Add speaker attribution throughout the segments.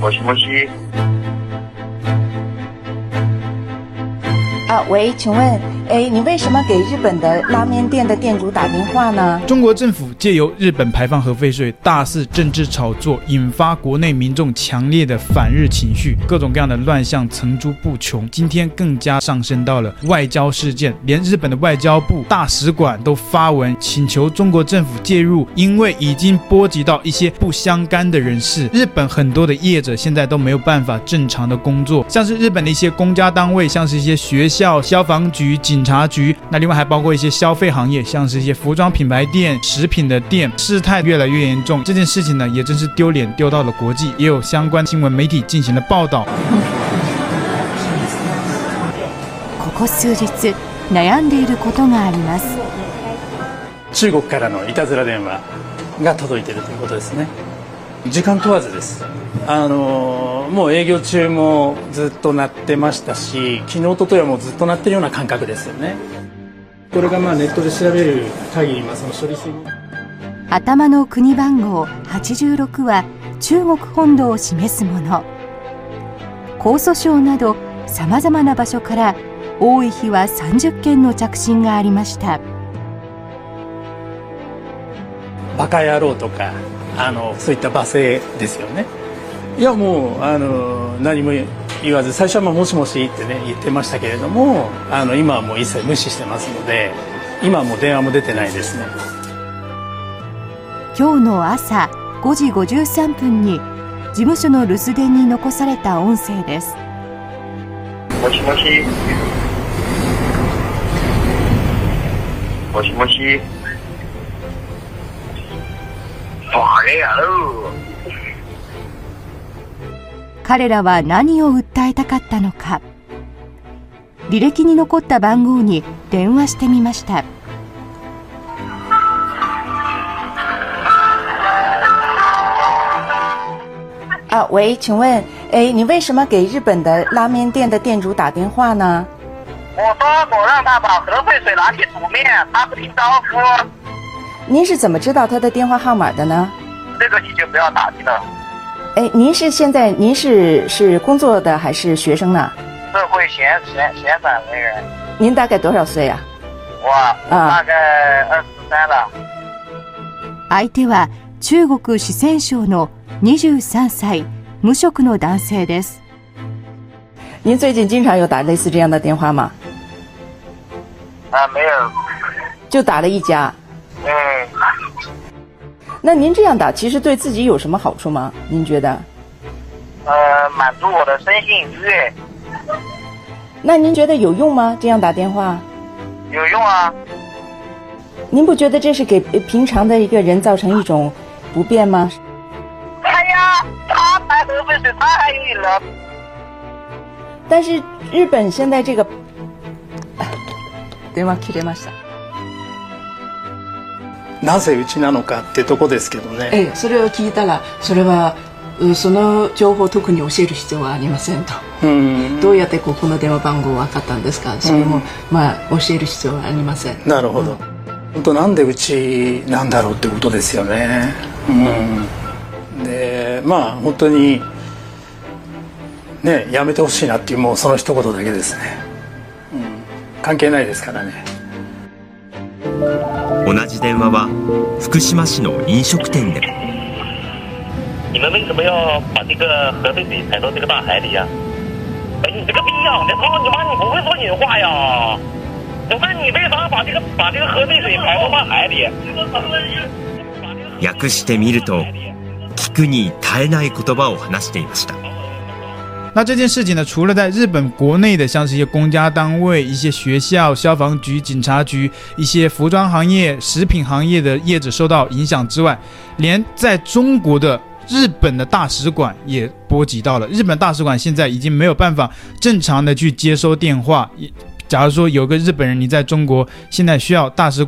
Speaker 1: もしもし。
Speaker 2: 喂，請問，你為什麼給日本的拉麵店的店主打電話呢？
Speaker 3: 中國政府借由日本排放核廢水，大肆政治炒作，引發國內民眾強烈的反日情緒，各種各樣的亂象層出不窮。今天更加上升到了外交事件，連日本的外交部大使館都發文請求中國政府介入，因為已經波及到一些不相干的人士。日本很多的業者現在都沒有辦法正常的工作，像是日本的一些公家單位，像是一些學校、消防局、警察局，那另外還包括一些消費行業，像是一些服裝品牌店、食品的店，事態越來越嚴重。這件事情呢，也真是丟臉丟到了國際，也有相關新聞媒體進行了報道。
Speaker 4: ここ数日悩んでいることがあります。
Speaker 5: 中国からのいたずら電話が届いているということですね。時間問わずです。もう営業中もずっと鳴ってましたし、昨日ととはもうずっと鳴ってるような感覚ですよね。これがネットで調べる限り、その処理水に
Speaker 4: 頭の国番号86は中国本土を示すもの。江蘇省などさまざまな場所から多い日は30件の着信がありました。
Speaker 5: バカ野郎とかそういった罵声ですよね。いやもう何も言わず、最初はもしもしってね言ってましたけれども、今はもう一切無視してますので、今はもう電話も出てないですね。
Speaker 4: 今日の朝5時53分に事務所の留守電に残された音声です。
Speaker 1: もしもし。もしもし。バカ野郎。
Speaker 4: 彼らは何を訴えたかったのか。履歴に残った番号に電話してみました。
Speaker 2: 喂，請問，你為什麼給日本的拉麵店的店主打電話呢？
Speaker 1: 我說我讓他把核廢水拿去煮麵，他不聽招呼。
Speaker 2: 您是怎麼知道他的電話號碼的呢？
Speaker 1: 這個你就不要打聽了。
Speaker 2: 您是工作的還是學生呢？
Speaker 1: 社會閒散人員。
Speaker 2: 您大概多少歲啊？
Speaker 1: 我大概23了。
Speaker 4: 相手は中國四川省の23歳無職の男性です。
Speaker 2: 您最近經常有打類似這樣的電話嗎？
Speaker 1: 沒有，
Speaker 2: 就打了一家。那您這樣打其實對自己有什麼好處嗎？您覺得？
Speaker 1: 滿足我的身心愉悅。
Speaker 2: 那您覺得有用嗎？這樣打電話？
Speaker 1: 有用啊。
Speaker 2: 您不覺得這是給平常的一個人造成一種不便嗎？
Speaker 1: 哎呀，他排核廢水，他還有人。
Speaker 2: 但是日本現在這個電話切れました。
Speaker 5: なぜうちなのかってとこですけどね。
Speaker 6: それを聞いたら、それはその情報を特に教える必要はありませんと。どうやってここの電話番号分かったんですか。それも教える必要はありません。
Speaker 5: なるほど。本当なんでうちなんだろうってことですよね。で本当にね、やめてほしいなっていう、もうその一言だけですね。関係ないですからね。
Speaker 7: 同じ電話は福島市の飲食店でも。
Speaker 1: 你們為什麼要把這個核廢水排到這個大海裡呀？你這個逼樣的，操你媽！你不會說人話呀？我問你為啥把這個核廢水排到大海裡？
Speaker 7: 訳してみると、聞くに耐えない言葉を話していました。
Speaker 3: 那這件事情呢，除了在日本國內的像是一些公家單位、一些學校、消防局、警察局、一些服裝行業、食品行業的業者受到影響之外，連在中國的日本的大使館也波及到了。日本大使館現在已經沒有辦法正常的去接收電話。假如說有個日本人你在中國，現在需要大使館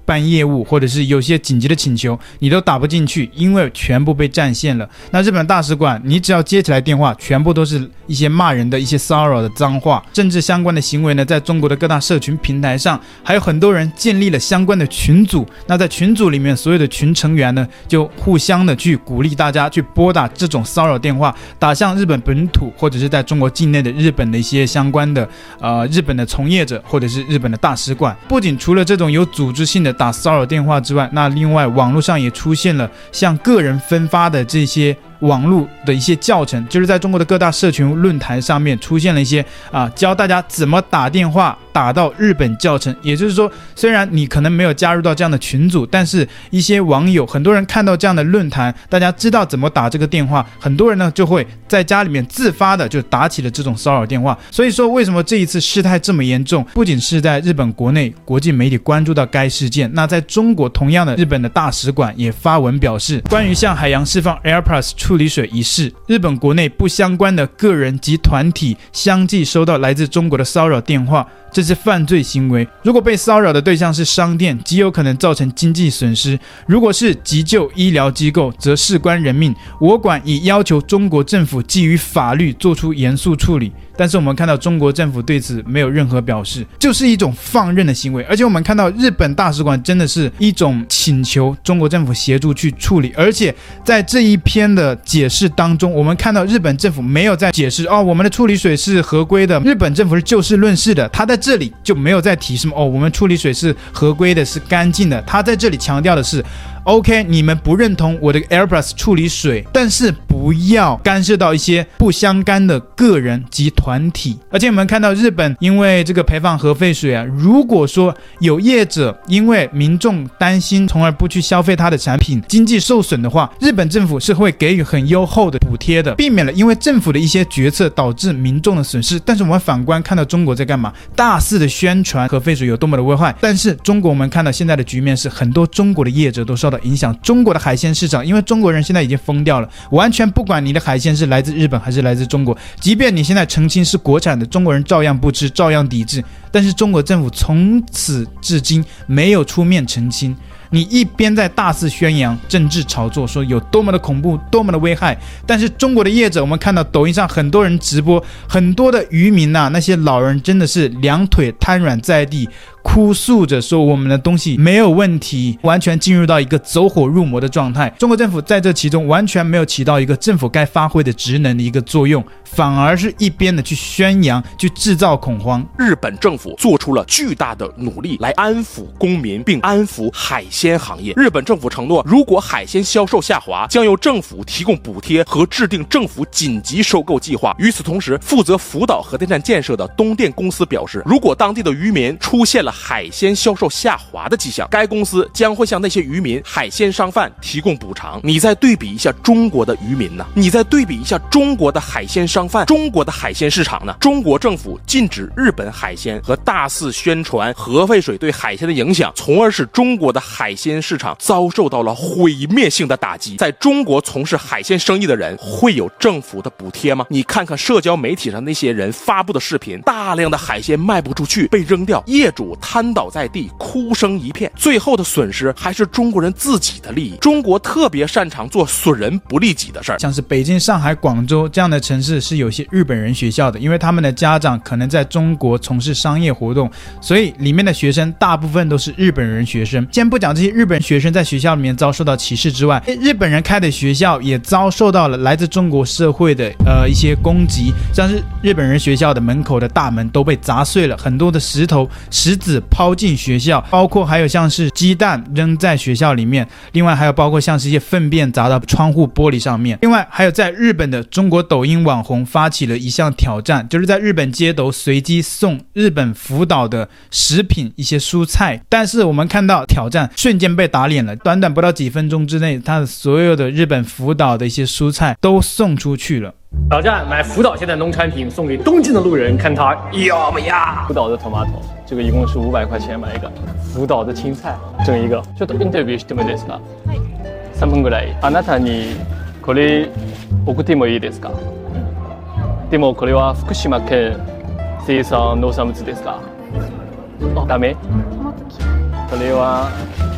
Speaker 3: 辦業務，或者是有些緊急的請求，你都打不進去，因為全部被佔線了。那日本大使館，你只要接起來電話，全部都是一些罵人的一些騷擾的髒話，政治相關的行為呢，在中國的各大社群平台上，還有很多人建立了相關的群組。那在群組裡面，所有的群成員呢，就互相的去鼓勵大家去撥打這種騷擾電話，打向日本本土或者是在中國境內的日本的一些相關的日本的從業者或者是日本的大使館。不僅除了這種有組織性的打騷擾電話之外，那另外網絡上也出現了向個人分發的這些網絡的一些教程，就是在中國的各大社群論壇上面出現了一些教大家怎麼打電話打到日本教程。也就是說，雖然你可能沒有加入到這樣的群組，但是一些網友很多人看到這樣的論壇，大家知道怎麼打這個電話，很多人呢就會在家裡面自發的就打起了這種騷擾電話。所以說為什麼這一次事態這麼嚴重，不僅是在日本國內國際媒體關注到該事件，那在中國同樣的日本的大使館也發文表示，關於向海洋釋放 AirPlus處理水一事，日本國內不相關的個人及團體相繼收到來自中國的騷擾電話，這是犯罪行為。如果被騷擾的對象是商店，極有可能造成經濟損失；如果是急救醫療機構，則事關人命。我館已要求中國政府基於法律做出嚴肅處理。但是我們看到中國政府對此沒有任何表示，就是一種放任的行為。而且我們看到日本大使館真的是一種請求中國政府協助去處理，而且在這一篇的解釋當中，我們看到日本政府沒有在解釋我們的處理水是合規的，日本政府是就事論事的，他在這裡就沒有在提什麼我們處理水是合規的，是乾淨的。他在這裡強調的是OK， 你們不認同我的 AirPlus 處理水，但是不要干涉到一些不相干的個人及团體。而且我們看到日本因為這個排放核廢水如果說有業者因為民眾擔心從而不去消費它的產品，經濟受損的話，日本政府是會給予很優厚的補貼的，避免了因為政府的一些決策導致民眾的損失。但是我們反觀看到中國在幹嘛？大肆的宣傳核廢水有多麼的危害，但是中國我們看到現在的局面是很多中國的業者都受到影響。中國的海鮮市場，因為中國人現在已經瘋掉了，完全不管你的海鮮是來自日本還是來自中國，即便你現在澄清是國產的，中國人照樣不吃，照樣抵制。但是中國政府從此至今沒有出面澄清。你一邊在大肆宣揚政治炒作，說有多麼的恐怖，多麼的危害，但是中國的業者，我們看到抖音上很多人直播，很多的漁民那些老人真的是兩腿癱軟在地，哭訴着說我們的東西沒有問題，完全進入到一個走火入魔的狀態。中國政府在這其中完全沒有起到一個政府該發揮的職能的一個作用，反而是一邊的去宣揚，去制造恐慌。
Speaker 8: 日本政府做出了巨大的努力來安撫公民，並安撫海鮮行業。日本政府承諾，如果海鮮銷售下滑，將由政府提供補貼和制定政府緊急收購計劃。與此同時，負責福島核電站建設的東電公司表示，如果當地的漁民出現了海鮮銷售下滑的跡象，該公司將會向那些漁民、海鮮商販提供補償。你再對比一下中國的漁民呢？你再對比一下中國的海鮮商販、中國的海鮮市場呢？中國政府禁止日本海鮮和大肆宣傳核废水對海鮮的影響，從而使中國的海鮮市场遭受到了毀滅性的打擊。在中国從事海鮮生意的人會有政府的補貼嗎？你看看社交媒體上那些人發布的視頻，大量的海鮮賣不出去，被扔掉，業主癱倒在地，哭聲一片，最後的損失還是中國人自己的利益。中國特別擅長做損人不利己的事兒，
Speaker 3: 像是北京、上海、廣州這樣的城市是有些日本人學校的，因為他們的家長可能在中國從事商業活動，所以裡面的學生大部分都是日本人學生。先不講這些日本學生在學校裡面遭受到歧視之外，日本人開的學校也遭受到了來自中國社會的一些攻擊，像是日本人學校的门口的大門都被砸碎了，很多的石子拋進學校，包括還有像是雞蛋扔在學校裡面，另外還有包括像是一些糞便砸到窗戶玻璃上面。另外還有在日本的中國抖音網紅發起了一項挑戰，就是在日本街頭隨機送日本福島的食品一些蔬菜，但是我們看到挑戰瞬間被打臉了，短短不到幾分鐘之內，他的所有的日本福島的一些蔬菜都送出去了。
Speaker 9: 挑戰買福島縣的農產品送給東京的路人，看他要不要。福島的 tomato 這個一共是500塊錢買一個。福島的青菜整一個。ちょっとインタビューしてもいいですか？3分ぐらい。あなたにこれ送ってもいいですか？でもこれは福島県生産農産物ですか？ダメ？それは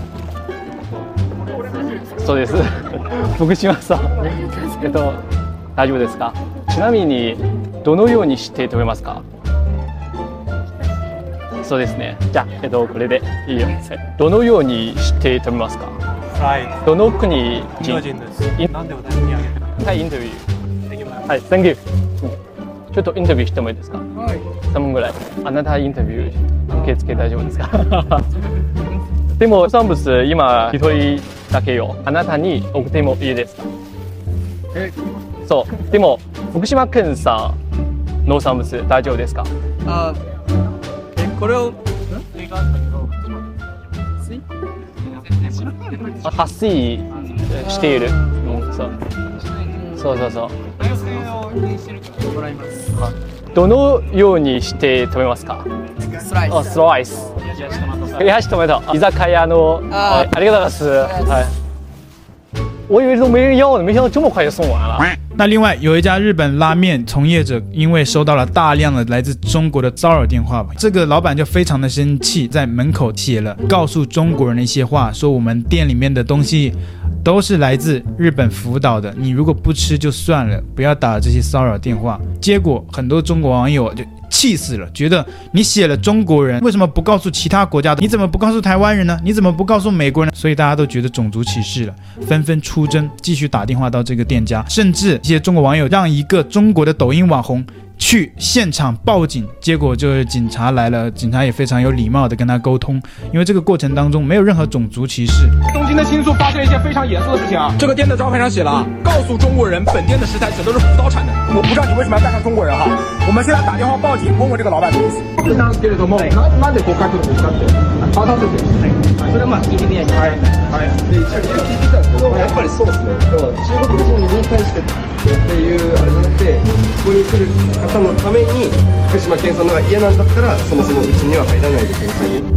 Speaker 9: そうです。福島さん。大丈夫ですか。ちなみにどのようにして食べますか。そうですね。じゃあこれでいいよ。どのようにして食べますか。どの国人？なんで私にあげる？はい、インタビュー。はい、Thank you。ちょっとインタビューしてもいいですか。はい。3分ぐらい。あなたインタビュー受け付け大丈夫ですか。でも農産物今一人だけよ。あなたに送ってもいいですか。そう。でも福島県産農産物大丈夫ですか。これを撥水している。そう。どのようにして食べますか。スライス。冷やしトマト。居酒屋のありがとうございます。はい。我以為都沒人要呢，没想到這麼快就送完了。
Speaker 3: 那另外有一家日本拉面從業者，因為收到了大量的來自中國的騷擾電話，這個老闆就非常的生氣，在門口寫了告訴中國人的一些話，說我們店裡面的東西都是來自日本福島的，你如果不吃就算了，不要打這些騷擾電話。結果很多中國網友就氣死了，覺得你寫了中國人，為什麼不告訴其他國家的？你怎麼不告訴台灣人呢？你怎麼不告訴美國人呢？所以大家都覺得種族歧視了，紛紛出征，繼續打電話到這個店家，甚至一些中國網友讓一個中國的抖音網紅去現場報警，結果就是警察來了，警察也非常有禮貌的跟他溝通，因為這個過程當中沒有任何種族歧視。
Speaker 10: 東京的新宿發生一件非常嚴肅的事情啊！這個店的招牌上寫了，告訴中國人本店的食材全都是福島產的。我不知道你為什麼要帶上中國人哈？我們現在打電話報警，問問這個老闆的意思。なんですけれども、なんで誤解するんですかって。あ、なんですよ。それはまあ聞いてみないと。はい。で、一応聞いてたんですけど、やっぱりそうですね。中国人に対してっていうあれじゃなくて、ここに来る方のために福島県産のが嫌なんだったら、そもそもうちには入らないでください。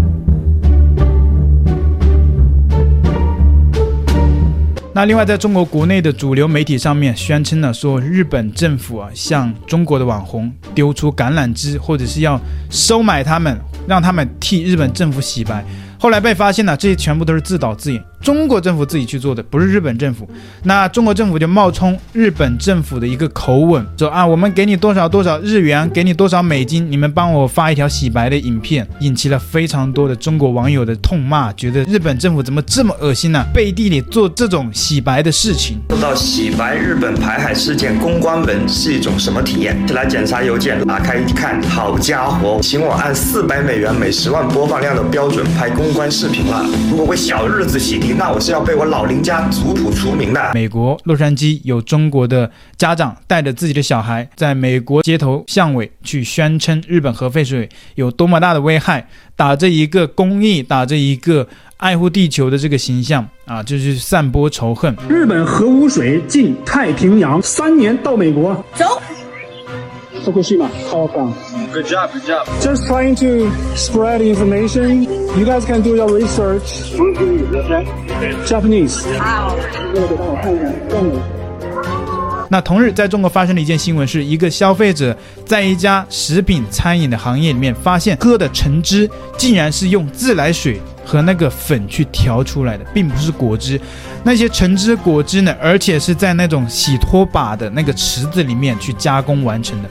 Speaker 3: 那另外，在中國國內的主流媒體上面宣稱了說，日本政府向中國的網紅丟出橄欖枝，或者是要收買他們，讓他們替日本政府洗白。後來被發現了，這些全部都是自導自演，中國政府自己去做的，不是日本政府。那中國政府就冒充日本政府的一個口吻，說啊，我們給你多少多少日元，給你多少美金，你們幫我發一條洗白的影片，引起了非常多的中國網友的痛罵，覺得日本政府怎麼這麼惡心呢？背地裡做這種洗白的事情。
Speaker 11: 受到洗白日本排海事件公關文是一種什麼體驗？來檢查郵件，打開一看，好家伙，請我按$400每10萬播放量的標準拍公關視頻了。如果為小日子洗滌，那我是要被我老林家族譜除名的。
Speaker 3: 美國洛杉磯有中國的家長帶着自己的小孩在美國街頭巷尾去宣稱日本核廢水有多麼大的危害，打着一個公益，打着一個愛護地球的這個形象啊，就是散播仇恨。
Speaker 12: 日本核污水進太平洋，3年到美國。走。Fukushima, how come?
Speaker 11: Good job, good job.
Speaker 12: Just trying to spread information. You guys can do your research. Japanese.
Speaker 3: 那同日，在中國發生了一件新聞，是一個消費者在一家食品餐飲的行業裡面發現喝的橙汁竟然是用自來水和那個粉去調出來的，並不是果汁。那些橙汁果汁呢，而且是在那種洗拖把的那個池子裡面去加工完成的。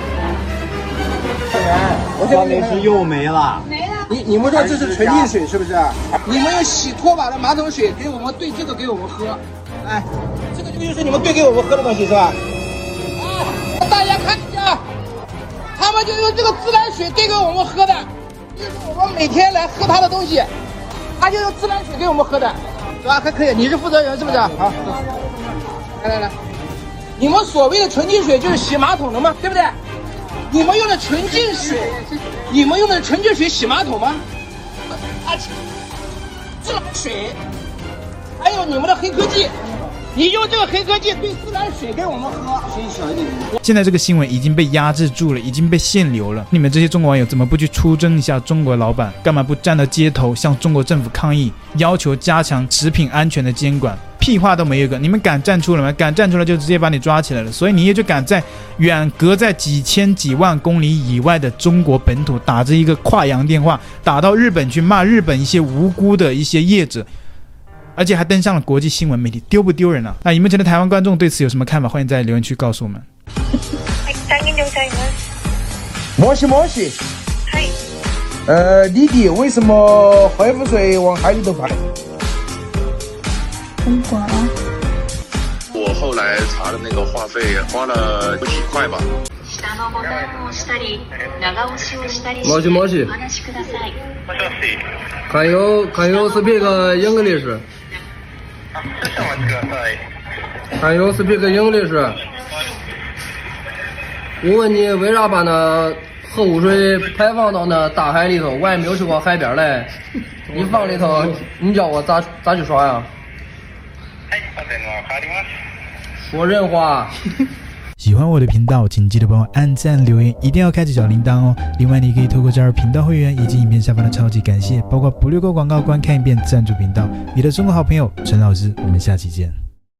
Speaker 13: 我這裡是又沒了。你們說這是純淨水是不是？你們用洗拖把的馬桶水給我們兌這個給我們喝，哎，這個就是你們兌給我們喝的東西是吧？啊，大家看一下，他們就用這個自來水兌給我們喝的，就是我們每天來喝他的東西，他就用自來水給我們喝的，是吧？還可以，你是負責人是不是？好，來，你們所謂的純淨水就是洗馬桶的嗎？對不對？你們用的純淨水，你們用的純淨水洗馬桶嗎？啊，自來水，還有你們的黑科技，你用這個黑科技兌自來水給我們喝。聲音小一點。
Speaker 3: 現在這個新聞已經被壓制住了，已經被限流了。你們這些中國網友怎麼不去出征一下中國老闆？幹嘛不站到街頭向中國政府抗議，要求加強食品安全的監管？屁話都沒有一個，你們敢站出來嗎？敢站出來就直接把你抓起來了。所以你也就敢在遠隔在幾千幾萬公里以外的中國本土打着一個跨洋電話，打到日本去罵日本一些無辜的一些業者。 而且還登上了國際新聞媒體，丟不丟人啊？那熒幕前的台灣觀眾對此有什麼看法？歡迎在留言區告訴我們。
Speaker 13: 摩西，弟弟，為什麼核污水往海裡頭排？
Speaker 14: 中國。
Speaker 15: 我後來查的那個話費花了幾塊吧。
Speaker 16: もし。Can you speak English? Can you speak English? 我問你，為啥把那核污水排放到那大海裡頭？我也沒有去過海邊嘞。你放裡頭，你叫我咋去耍呀？說人話。
Speaker 3: 喜歡我的頻道，請記得幫我按讚、留言，一定要開啟小鈴鐺哦。另外，你可以透過加入頻道會員以及影片下方的超級感謝，包括不略過廣告、觀看一遍贊助頻道。你的中國好朋友陳老師，我們下期見。